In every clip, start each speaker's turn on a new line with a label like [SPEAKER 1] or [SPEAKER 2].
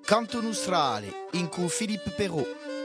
[SPEAKER 1] Canto Nostrale, in cui Filippo Perrault.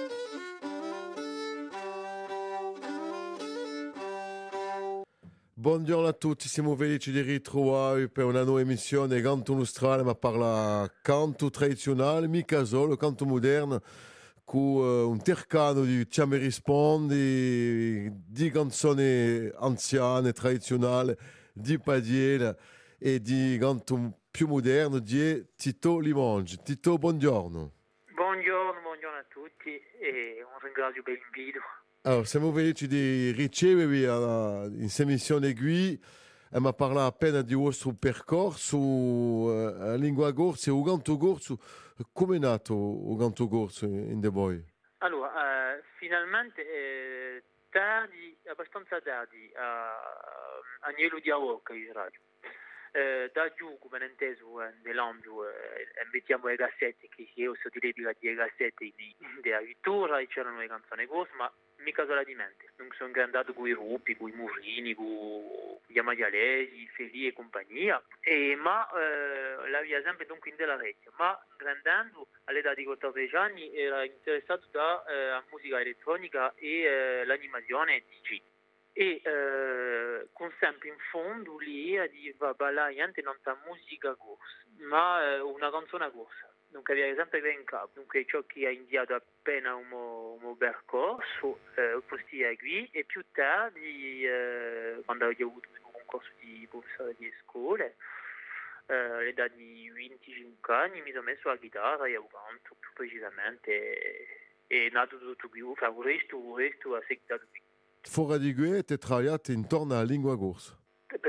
[SPEAKER 2] Buongiorno a tutti, siamo felici di ritrovare per una nuova emissione Canto Nostrale, ma parla canto tradizionale, mica solo, canto moderno, con un tercano di Ci rispondi, di canzoni anziane, tradizionali, di padiela e di canto più moderno di Tito Limongi. Tito, buongiorno.
[SPEAKER 3] Buongiorno a tutti e un ringrazio per l'invito.
[SPEAKER 2] Allora, siamo felici di ricevervi in questa emissione qui. Ma parla appena di vostro percorso a lingua corsa e il canto corso. Come è nato il canto corso in De Voi?
[SPEAKER 3] Allora, finalmente abbastanza tardi, Agnello di Aocca in radio. Da giù, come non inteso, nell'ambito, mettiamo le cassette, che io so direi di cassette della vittoria, e c'erano le canzoni corse, ma mica solamente. Non sono andato con i Ruppi, con i Murini, con gli Amadialesi, Feli e compagnia, ma la via sempre dunque in della rete. Ma grandendo, all'età di 14 anni, era interessato da musica elettronica e l'animazione DJ. E con sempre in fondo lì di ballare niente non ta musica corsa, ma una canzone corsa. Dunque aveva sempre ben in capo, dunque ciò che ha indicato appena un percorso, postia qui, e più tardi, quando ho avuto il concorso di professore di scuole, all'età di 25 anni mi sono messo la chitarra e ho canto più precisamente, è nato tutto qui, il resto ha seguito qui.
[SPEAKER 2] Fuori di qui ti travagliate intorno alla lingua corsa.
[SPEAKER 3] Per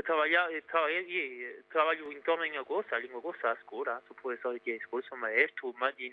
[SPEAKER 3] travaglio intorno alla lingua corsa a scuola, sono professore di scuola, sono maestro, ma di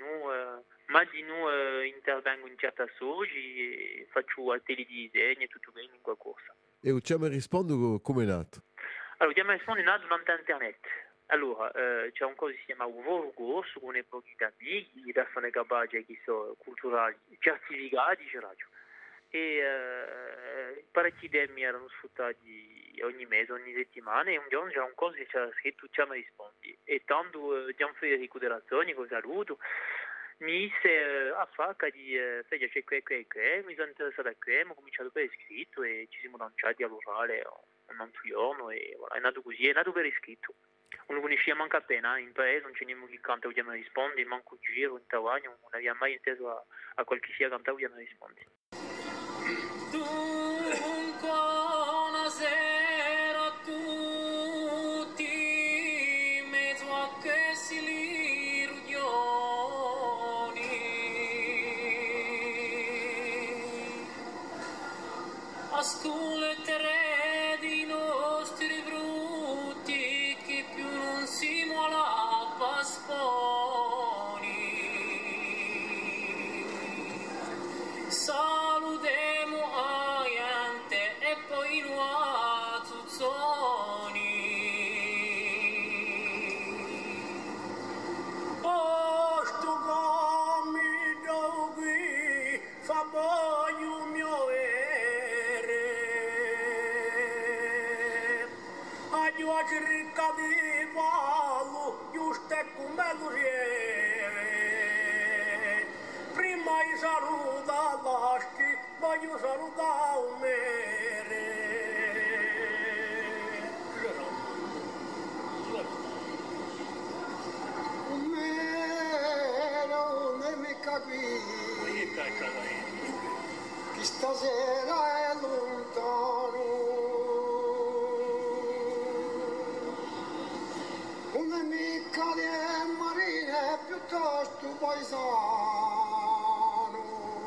[SPEAKER 3] noi intervengo in certi associati, faccio atelier di disegno e tutto in lingua corsa.
[SPEAKER 2] E il Ci rispondo come è nato?
[SPEAKER 3] Allora, Ci rispondo è nato durante internet. Allora, c'è un cosa che si chiama un corso con pochi amici, di persone capaci che sono culturali, certificati, radio. E parecchi demi erano sfruttati ogni mese, ogni settimana, e un giorno c'era un corso che c'era scritto Ci rispondi, e tanto Gianfederico della Zoni, che saluto, mi disse a facca di c'è mi sono interessato a ho cominciato per iscritto e ci siamo lanciati all'orale un altro giorno e voilà, è nato così, è nato per iscritto. Non lo conosciamo manco appena, in paese non c'è nemmeno chi canta Ci rispondi, manco giro, in Tavagno, non abbiamo mai inteso a qualche sia cantare Ci rispondi.
[SPEAKER 4] Dunque buonasera a tutti, in mezzo a questi riunioni. Ascolterete di nostri brutti che più non si muola pasponi. Salutemo a gente e poi a Zuzzoni. Oh, sto gomito qui fa boio mio ere. Adio a ricca di vallo, giusto e come lo rieve. Prima io saluta l'aschi, voglio salutare un mere.
[SPEAKER 5] Un mere non è mica qui, che stasera è lontano. Una mica di marine piuttosto paesano.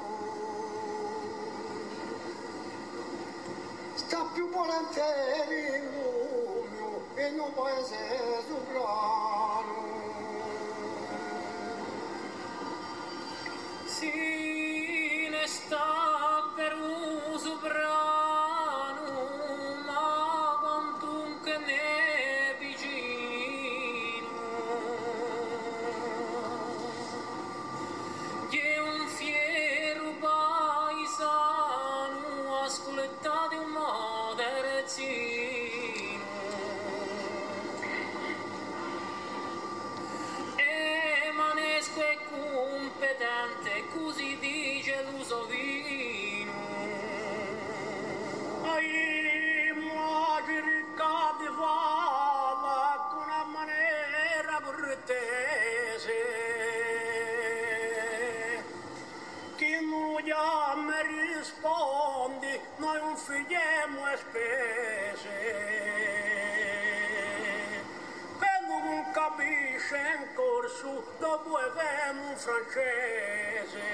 [SPEAKER 5] Sta più volentieri in lume e non paese soprano.
[SPEAKER 4] Si ne sta per un soprano, ma quantunque ne vicino. Che un fiero paesano ascoltate un moderzino. E manesco e dopo avevamo un francese.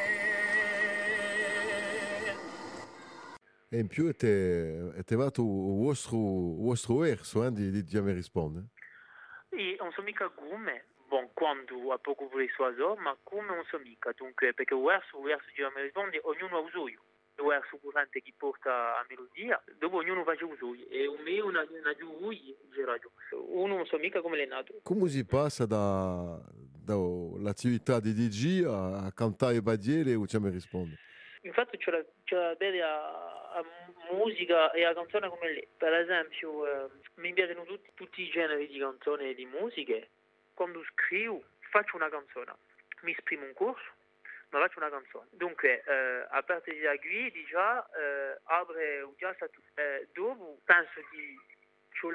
[SPEAKER 2] E in più avete il vostro verso di Giamè risponde.
[SPEAKER 3] E non so mica come, quando a poco vorrei so, ma come non so mica, dunque, perché il verso di me risponde, ognuno ha uso io. Il verso corrente che porta a melodia, dopo ognuno fa uso io, e un me una giù lui, uno non so mica come l'è nato.
[SPEAKER 2] Come si passa dall'attività di DJ a cantare Badiele o Giamè risponde?
[SPEAKER 3] Infatti c'è la a musica e a canzone come lei. Per esempio, mi piacciono tutti i generi di canzoni e di musiche. Quando scrivo faccio una canzone, mi esprimo un corso, ma faccio una canzone. Dunque, a parte di qui, già apre già stato. Dopo penso di ce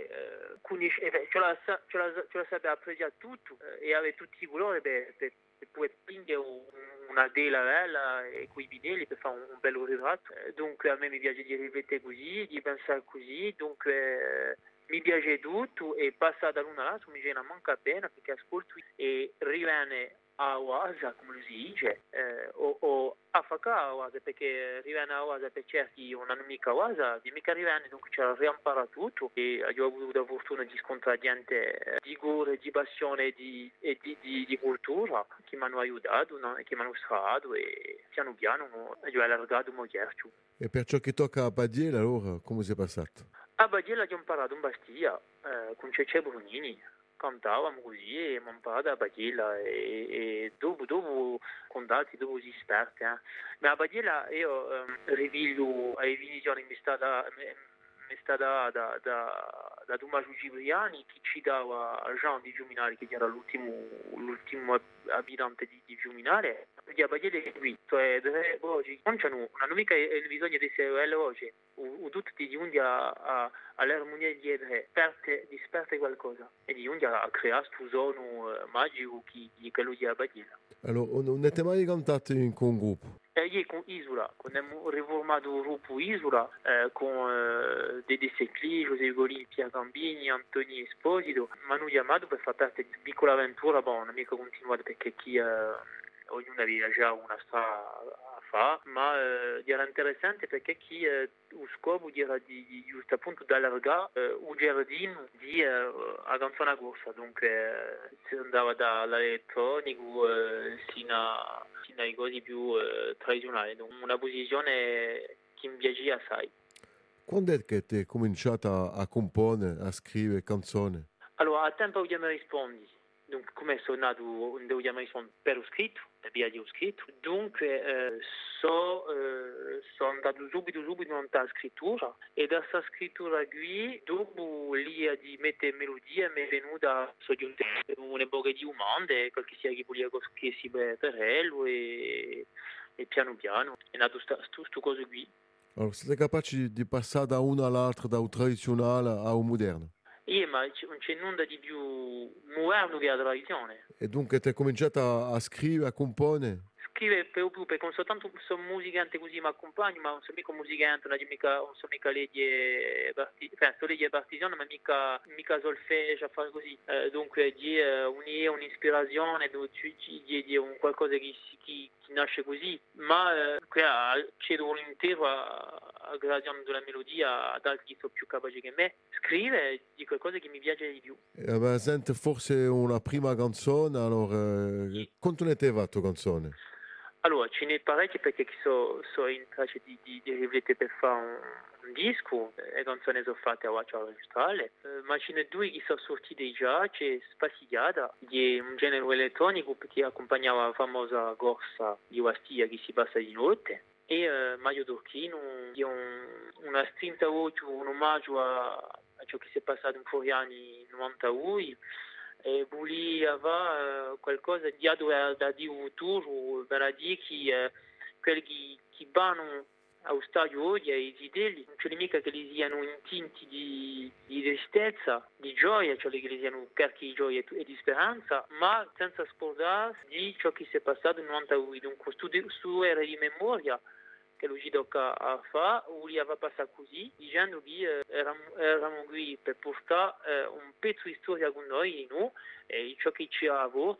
[SPEAKER 3] la sapevo apprezzare tutto e avere tutti i colori per poi prendere una tela bella e coi vinili per fare un bello ritratto. Dunque a me mi piace di riflettere così, di pensare così, dunque mi piace tutto e passata l'una all'altra mi viene a manca bene perché ascolto e rimane a casa, come si dice, o a fare a casa perché rimane a casa per certi non hanno mica casa, di mica rimane, dunque c'è rimpara tutto e ho avuto la fortuna di scontrare gente di cuore, di passione e di cultura che mi hanno aiutato, no? E che mi hanno stato e piano piano ho allargato il mio cerchio.
[SPEAKER 2] E per ciò che tocca a Badiele, allora, come si è passato?
[SPEAKER 3] A Badiella ho imparato in Bastia con Cecce Brunini, cantavamo così e abbiamo imparato a Badiella e dopo contatti, dopo si esperti. Ma a Badiella io riviglio ai Viniciani mi è stata da Tommaso Cipriani che ci dava a Jean di Fiuminale che era l'ultimo abitante di Fiuminale. Di Badiella è qui, cioè tre voci, non hanno mica il bisogno di essere le voci. O tutti di giunti all'armonia di disperte qualcosa e di giunti a creare questo suono magico che quello di Abadiella.
[SPEAKER 2] Allora, non avete mai cantato con un gruppo?
[SPEAKER 3] Io con Isola, quando abbiamo riformato il gruppo Isola con Dede Secli, José Golini, Pierre Gambini, Antonio Esposito, mi hanno chiamato per fare parte di piccola avventura, non mica continuato perché ognuno aveva già una strada a fare, ma era interessante perché lo scopo era di giusto appunto di allargare un giardino a canzone corsa, dunque si andava dall'elettronico sino ai cose più tradizionali, una posizione che mi piaceva assai.
[SPEAKER 2] Quando è che ti hai cominciato a comporre, a scrivere canzoni?
[SPEAKER 3] Allora, a tempo che mi rispondi. Dunque, come sono nato, devo rispondere per lo scritto, per via di scritto. Dunque, sono andato subito nella scrittura e da questa scrittura qui, dopo l'idea di mettere melodie, mi è venuta un'epoca di umande, qualche sia che voleva che si per e piano piano è nato questo cosa qui.
[SPEAKER 2] Allora, siete capaci di passare da uno all'altro, da un tradizionale a un moderno?
[SPEAKER 3] Ma non c'è nulla di più moderno che la tradizione.
[SPEAKER 2] E dunque ti hai cominciato a scrivere, a comporre?
[SPEAKER 3] Scrive per più, perché non soltanto sono musicante così mi accompagno, ma non sono mica musicante, non sono mica legge partigiano, ma mica solfeggio a fare così. Dunque di un'ispirazione, di un qualcosa che nasce così, ma cedo volentieri a gradire della melodia ad altri che sono più capaci che me. Scrive di qualcosa che mi piace di più.
[SPEAKER 2] Senti forse una prima canzone, allora, quanto ne te va tua canzone?
[SPEAKER 3] Allora, ce n'è parecchie perché sono in traccia di riflettere per fare un disco, le canzoni sono fatte a voce registrale, ma ce n'è due che sono sortite già, c'è Spassigliata, che è un genere elettronico che accompagnava la famosa corsa di Bastia che si passa di notte, e Mario Dorchino, che è una strinta voce, un omaggio a ciò che si è passato in fuori anni 92, e volevo qualcosa di da di futuro, per dire che quelli che vanno allo stadio oggi, ai zidelli, non c'è mica che li siano intinti di tristezza, di gioia, cioè che li siano carichi di gioia e di speranza, ma senza scordarsi di ciò che si è passato in 92. Dunque, questo era di memoria che lui ci tocca a fare, voleva passare così, dicendo che eravamo qui per portare un pezzo di storia con noi, no? E ciò che ci ha avuto,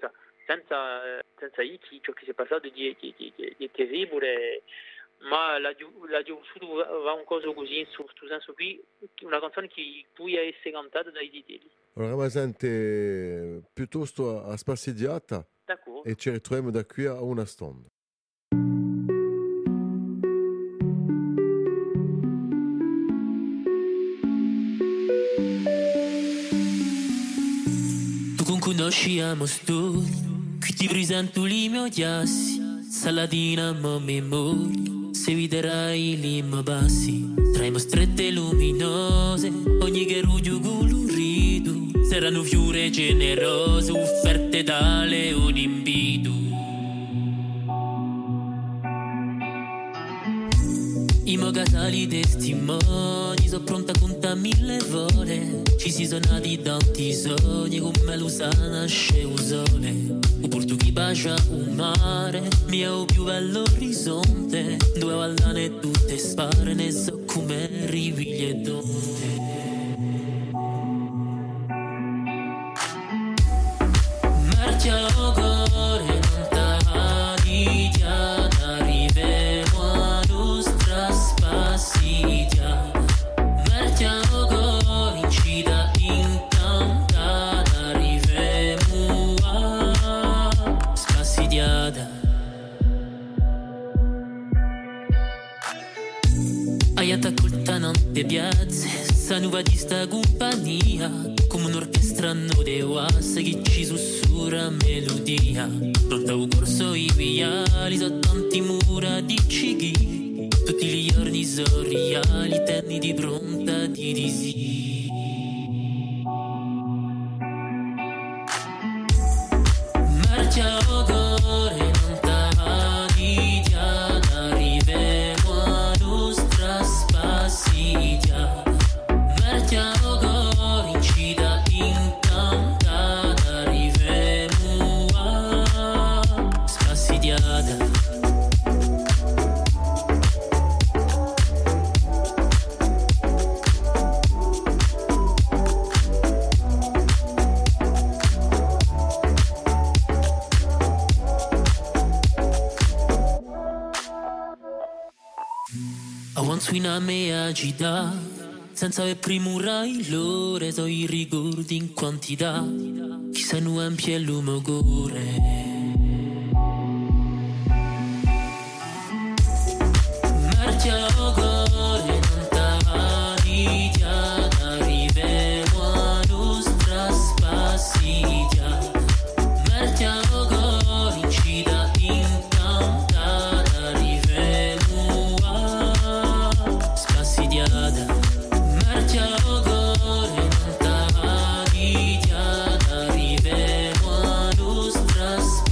[SPEAKER 3] senza Iki, ciò che si è passato di terribile, ma la giusto va un coso così, in questo senso qui, una canzone che può essere cantata dai Zitelli.
[SPEAKER 2] Allora, sente piuttosto a spassidiata e ci ritroviamo da qui a una stonda.
[SPEAKER 6] Conosciamo studi, qui ti presento i miei chiassi, salatina ma memoria, se viderai li miei passi, traimo strette luminose, ogni che ruggio colorito, saranno fiore generose, offerte da leone invito. I miei casali testimoni, sono pronta a contare 1000 vole. Ci si sono nati tanti sogni, come lo sa nasce un sole. O porto chi bacia un mare, mio più bello orizzonte. Due vallane tutte spare, ne so come rivigli e donde. Marcia o cuore, non t'ha di chiara, arriviamo a nostra spassidia. Marcia o cuore, incida incantata, arriviamo a spassidiata. Hai attaccolta tante piazze, sa nuova di sta compagnia, come un'orchestra no de oasse che ci sussurra melodia. Pronta un corso i viali, so tanti mura di cighi, tutti gli giorni sorriali, tenni di pronta di disi. Marcia o cuore, non t'ha di diana, arriviamo a nostra spassidia. Marcia o cuore, incida incantata, arriviamo a spassidiata. Avanzo in a me agita, senza aver primura il lore, so i ricordi in quantità, chissà nu ampie e l'umore. Marcia o cuore, non t'ha di diana, arriviamo a nostra spassidia. Marcia o cuore, incida incantata, arriviamo a spassidiata. Marcia o cuore, non t'ha di diana, arriviamo a nostra spassidia.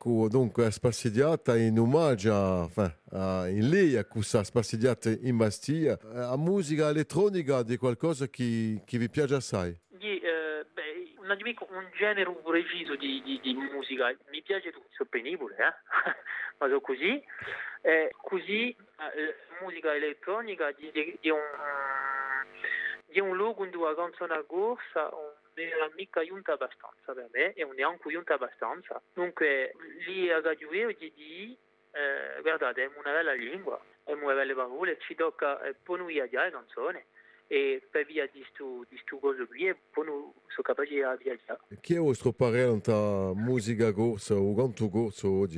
[SPEAKER 2] dunque spassidiata in omaggio in lei a questa spassidiata in Bastiglia, a musica elettronica di qualcosa che vi piace assai.
[SPEAKER 3] Un genere preciso di musica, mi piace tutto, sono penibile, ma sono così. Così musica elettronica di un luogo dove la canzone corsa non era mica giunta abbastanza per me e non è anche giunta abbastanza. Dunque lì a Gagliueo guardate, è una bella lingua, è una belle parole, ci tocca poi noi a già canzoni. E per via di sto cosa qui poi non sono capace di viaggiare.
[SPEAKER 2] Chi è il vostro parere tra musica corsa o canto corso oggi?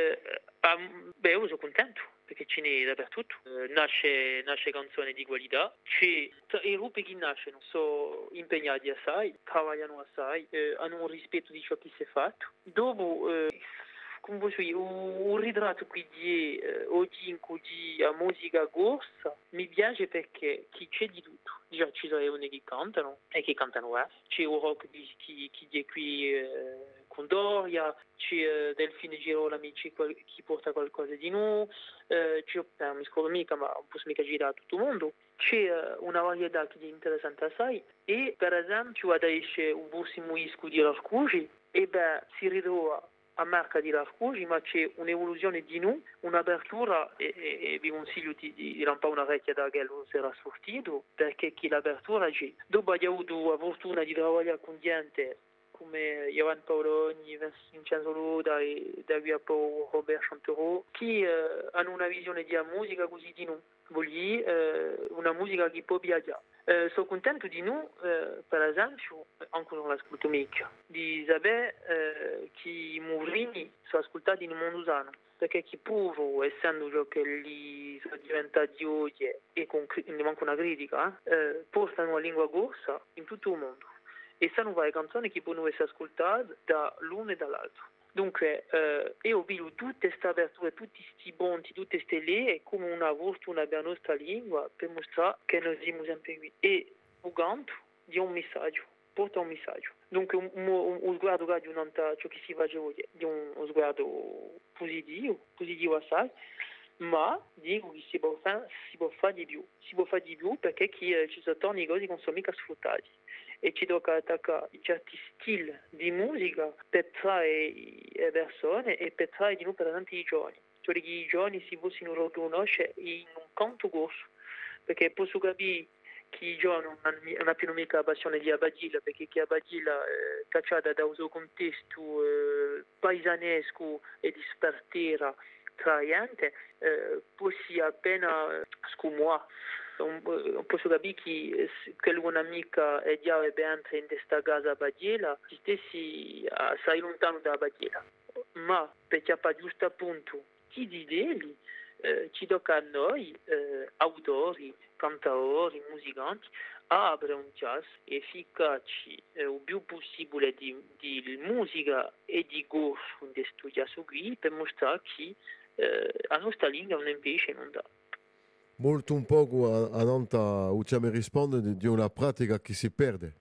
[SPEAKER 3] Io sono contento perché ce n'è dappertutto, nasce canzoni di qualità, i gruppi che nascono sono impegnati assai, lavorano assai, hanno un rispetto di ciò che si è fatto. Dopo come posso dire, un ritratto qui di oggi in cui a musica corsa mi piace perché c'è di tutto. Già ci sono uomini che cantano e che cantano c'è un rock chi è qui con Doria, c'è Delfine Girolami chi porta qualcosa di nuovo, non mi scordo mica ma non posso mica girare a tutto il mondo. C'è una varietà che è interessante assai e per esempio adesso un prossimo disco di Rafcugi e si ritrova a marca di Rafcugi, ma c'è un'evoluzione di noi, un'apertura e vi consiglio di lampare una vecchia da che non sarà sortito perché chi l'apertura c'è. Dopo abbiamo avuto la fortuna di lavorare con gente come Iovan Paoloni, Vincenzo Loda e da qui a poi Robert Chantereau che hanno una visione di musica così di noi, una musica che può viaggiare. Sono contento di noi, per esempio, anche non l'ascolto mica, di sapere che i Mourini sono ascoltati nel mondo usano, perché chi pure, essendo ciò che li sono diventati oggi e ne manca una critica, portano la lingua corsa in tutto il mondo e sanno fare canzoni che possono essere ascoltate dall'uno e dall'altro. Dunque, io vedo tutte queste aperture, tutti questi ponti, tutte queste linee come una fortuna per la nostra lingua per mostrare che noi siamo sempre qui. E il canto di un messaggio, porta un messaggio. Dunque, un sguardo che non è ciò che si fa oggi, di un sguardo positivo assai, ma dico che si può fare di più. Si può fare di più perché ci sono tanti cose che non sono mica sfruttati. E ci tocca attaccare certi stili di musica per trarre le persone e per trarre di noi per esempio i giovani. Cioè che i giovani si possono riconoscere in un canto corso, perché posso capire che i giovani non hanno più mica la passione di Abadilla, perché che Abadilla cacciata da un suo contesto paesanesco e di spartera traiante, possi appena scomuare. Non posso capire che quell'amica è già entra in questa casa Bagiela, si stessi assai lontano da Bagiela. Ma per chiappare giusto appunto chi di lì ci tocca a noi, autori, cantatori, musicanti, a aprire un jazz efficace il più possibile di musica e di gusto in questo jazz qui per mostrare che la nostra lingua non è invece non dà.
[SPEAKER 2] Molto un poco a Nanta mi risponde di una pratica che si perde.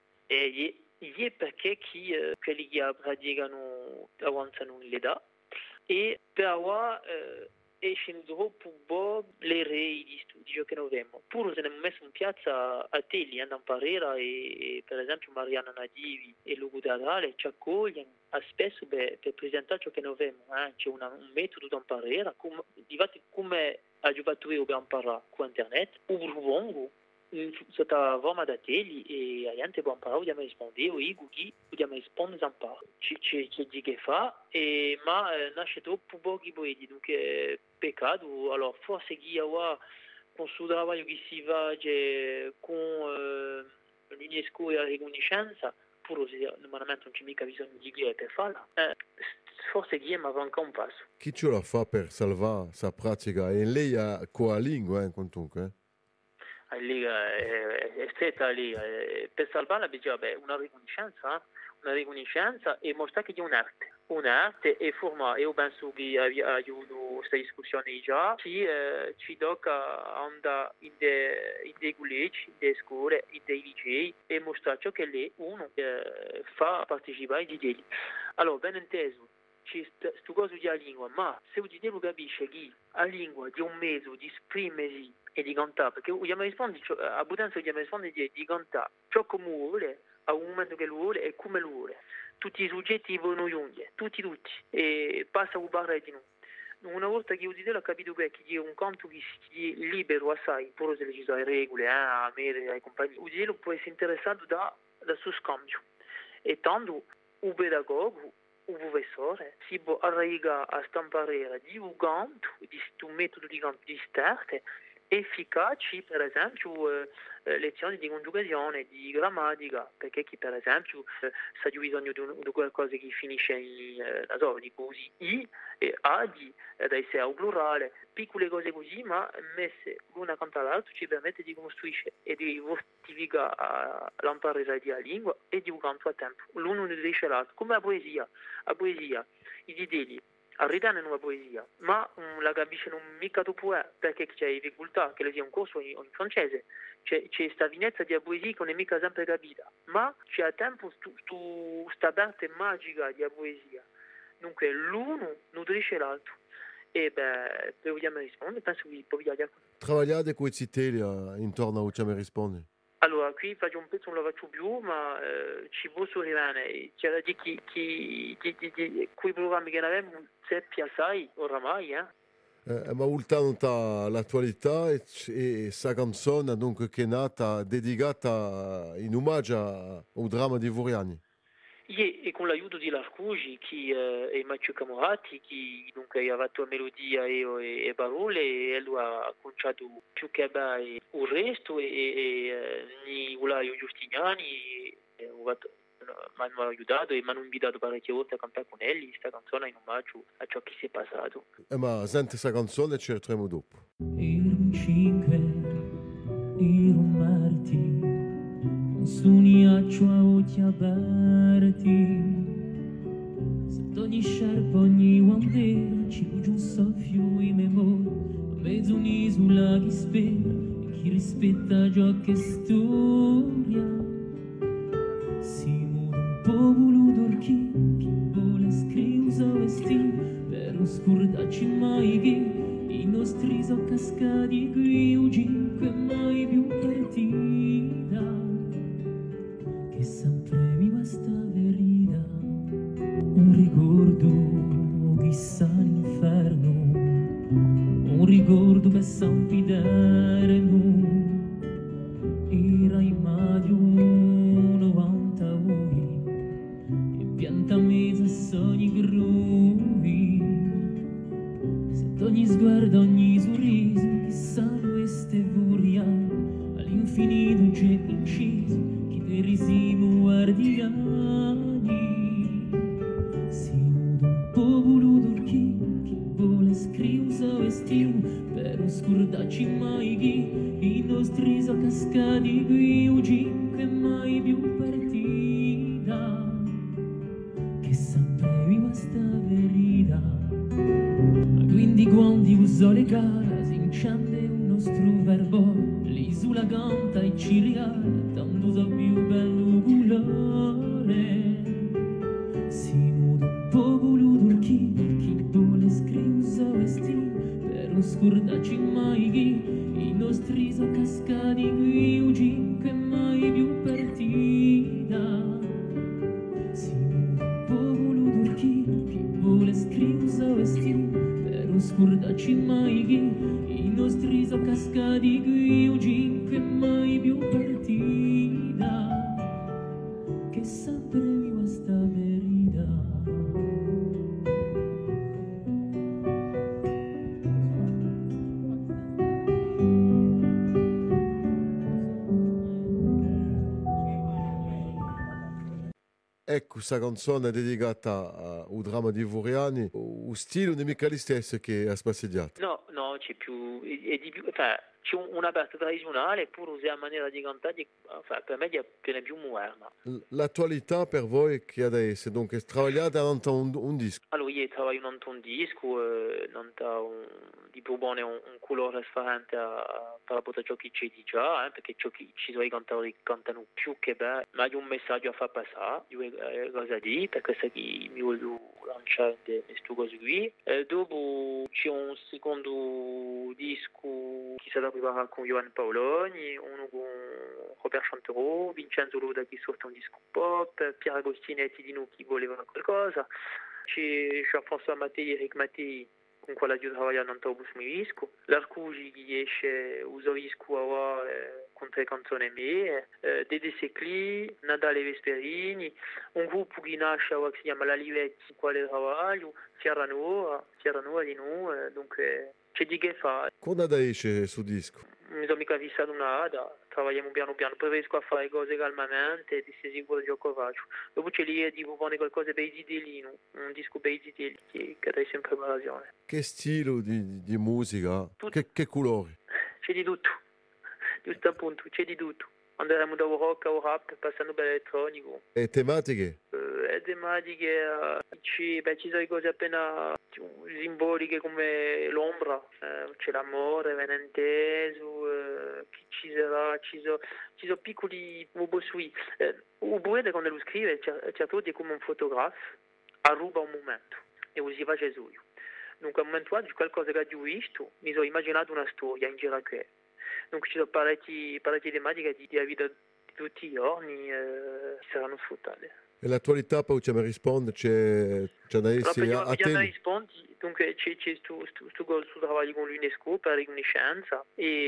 [SPEAKER 3] È perché quelli che praticano avanzano in età e però escono troppo le rei di studio che noi abbiamo. Pure se ne abbiamo messo in piazza a Telli, andano a Parera e per esempio Mariana Nadivi e Lugo Teatrale ci accogliano spesso per presentare ciò che noi abbiamo. C'è un metodo da Parera, come ha fatto io per imparare con internet, o propongo sotto la forma da Telli e la gente può imparare, dobbiamo rispondere, o i guidi, dobbiamo rispondere a imparare. C'è di che fa, ma nasce troppo pochi poeti, dunque peccato. Allora forse chi ha con il suo lavoro che si fa con l'UNESCO e la riconoscenza, pure se normalmente non c'è mica bisogno di chi per farla, forse chi manca ancora un passo.
[SPEAKER 2] Chi ce la fa per salvare sa pratica? E lei ha qua lingua, comunque?
[SPEAKER 3] Lì è stretta lì, per salvarla bisogna una riconoscenza e mostrare che è un'arte e formare. Io penso che aiuto questa discussione già, ci tocca andare in dei collegi, in delle scuole, in dei licei e mostrare ciò che lei uno fa partecipare ai degli. Allora, ben inteso, c'è sto coso di lingua, ma se uno lo capisce che la lingua è un mezzo di esprimersi e di cantare, perché vogliamo rispondere, a Butanza vogliamo rispondere di cantare ciò come vuole, a un momento che lo vuole e come lo vuole. Tutti i soggetti vogliono giungere, tutti, e passa a parlare di noi. Una volta che udite l'ho capito che è un canto che si libero assai, pure se ci sono le regole, a me, ai compagni, udite può essere interessato da suo scambio. E tanto un pedagogo, un professore, si può arrivare a stampare di un canto, di un metodo di canto di starte, efficaci, per esempio, lezioni di congiugazione, di grammatica, perché chi per esempio sa di bisogno di qualcosa che finisce in di così, i e adi, da essere al plurale, piccole cose così, ma messe l'una accanto all'altra ci permette di costruire e di fortificare l'imparare di lingua e di un canto a tempo. L'uno non dice l'altro, come la poesia, i dideli. Arriva in una poesia, ma la capisce non mica dopo perché c'è difficoltà che le sia un corso in francese, c'è questa finezza di poesia che non è mica sempre capita, ma c'è a tempo questa parte magica di poesia, dunque l'uno nutrisce l'altro e per vogliamo rispondere penso che può via.
[SPEAKER 2] Travagliate con i citeli intorno a Ucciame risponde.
[SPEAKER 3] Allora, qui faccio un pezzo, non lo faccio più, ma ci posso arrivare. C'era di quei programmi che ne avevamo, seppi assai, oramai,
[SPEAKER 2] Ma ultano l'attualità e sa canzone dunque, che è nata dedicata in omaggio al dramma di Vuriani.
[SPEAKER 3] E con l'aiuto di Larcugi e Matteo Camorati, che dunque ha fatto la melodia e parole, e lui ha conciato più che bene il resto, e Nicolaio Giustiniani mi hanno aiutato e mi hanno invitato parecchie volte a cantare con elli questa canzone in omaggio a ciò che si è passato.
[SPEAKER 2] Ma senti questa canzone e ci ritroviamo dopo.
[SPEAKER 6] Un 5, un martì, sogniaccio a occhi aperti, sotto ogni sciarpa, ogni bandera, ci giù un soffio in memoria, a mezzo un'isola chi spera e chi rispetta ciò che storia. Si muore un popolo d'orchi, chi vuole scrivere vestire, per non scordarci mai che i nostri sono cascati qui, o cinque mai più partita. Che sempre mi basta verità, un ricordo chissà l'inferno, un ricordo per San Piderno, era in maggio 92, e pianta mezza sogni gruvi, sotto ogni sguardo, ogni sorriso, chissà queste furia, all'infinito c'è inciso, risimo guardiani, si muda un popolo d'orchi, chi vuole scrivere vestire, per non scordarci mai che i nostri sono cascati qui, o cinque mai più partita, che sempre mi basta verità. Quindi quando uso le cara si incende un nostro verbo, l'isola canta e ci regala tanto so più bello colore. Si muda un popolo d'orchi, chi vuole scrivere vestire, per non scordarci mai che i nostri sono cascati qui, o cinque mai più partita. Si muda un popolo d'orchi, chi vuole scrivere vestire, per non scordarci mai che i nostri sono cascati qui, o cinque mai più partita, che sempre mi basta verità.
[SPEAKER 2] Ecco, questa canzone è dedicata al dramma di Vuriani. Il stile non è mica lo stesso che ha spasseggiato.
[SPEAKER 3] No, c'è più, è di più, c'è una parte tradizionale pure usare a maniera di cantare, per me è più moderna.
[SPEAKER 2] L'attualità per voi che adesso, dunque, travagliate davanti un disco.
[SPEAKER 3] Allora, io lavoro in un disco, di propone un colore differente per poter ciò che c'è di già, perché ciò che ci sono i cantatori che cantano più che bene, ma c'è un messaggio a far passare, due cose di, per questo che mi voglio lanciare queste cose qui. Dopo c'è un secondo disco che sarà preparato con Johan Paoloni, uno con Robert Chanterò, Vincenzo Loda che sorte un disco pop, Pier Agostinetti di noi che voleva qualcosa. C'è Jean-François Mattei e Eric Mattei con quale io lavoro in autobus mi disco. L'Arcugi che esce uso disco con 3 canzoni mie, Dede Secli, Nadale Vesperini, un gruppo che nasce che si chiama La Livetti con quale lavoro, Sierra Nuova di noi, dunque c'è di che fare.
[SPEAKER 2] Quando esce su disco?
[SPEAKER 3] Mi sono mica fissato nada, lavoriamo piano piano, preferisco a fare cose calmamente, di essere sicuro di ciò che faccio. Dopo c'è lì di propone qualcosa per i zitelli, un disco per i zitelli che è sempre in preparazione.
[SPEAKER 2] Che stile di musica? Che colori?
[SPEAKER 3] C'è di tutto, giusto appunto, c'è di tutto. Andremo da rock o rap, passando per elettronico.
[SPEAKER 2] E tematiche?
[SPEAKER 3] Tematiche, ci sono cose appena simboliche come l'ombra, c'è l'amore, venenteso, chi ci sarà, ci sono piccoli robosui. Oppure quando lo scrive, certo è come un fotografo, arruba un momento e lo si fa Gesù. Dunque, al momento oggi, qualcosa che ho visto, mi sono immaginato una storia in giro qui. Dunque, ci sono parecchie tematiche di vita di tutti i giorni che saranno sfruttate.
[SPEAKER 2] E l'attualità poi ci mi risponde, c'è da essere a te.
[SPEAKER 3] Rispondi, dunque c'è questo lavoro con l'UNESCO per la riconoscenza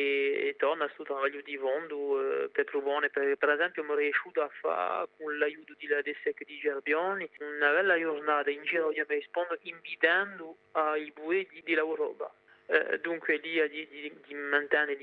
[SPEAKER 3] e torna questo lavoro di fondo per provare, per esempio mi è riuscito a fare con l'aiuto di DESEC di Gerbioni una bella giornata in giro di rispondo invitando ai buoi di lavoro. Dunque lì di mantenere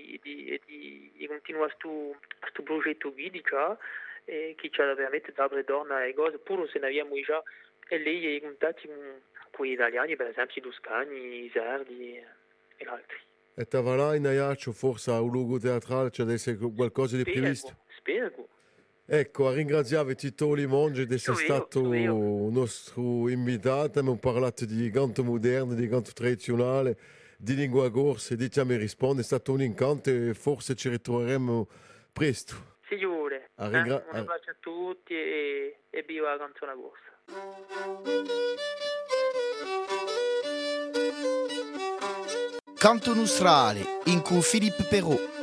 [SPEAKER 3] di continuare questo progetto qui di già che ci ha veramente dato le donne e cose pure se ne abbiamo già e lei i contatti con gli italiani per esempio i toscani, i sardi e altri.
[SPEAKER 2] E Tavarà in Ajaccio forse a un luogo teatrale c'è adesso qualcosa di previsto?
[SPEAKER 3] Spero.
[SPEAKER 2] Ecco, a ringraziare Tito Limongi di essere stato nostro invitato, abbiamo parlato di canto moderno, di canto tradizionale, di lingua corsa, di Ti mi risponde, è stato un incanto e forse ci ritroveremo presto.
[SPEAKER 3] Signore, un abbraccio a tutti e viva la canzone corsa.
[SPEAKER 1] Canto nostrale in cui Philippe Perrault.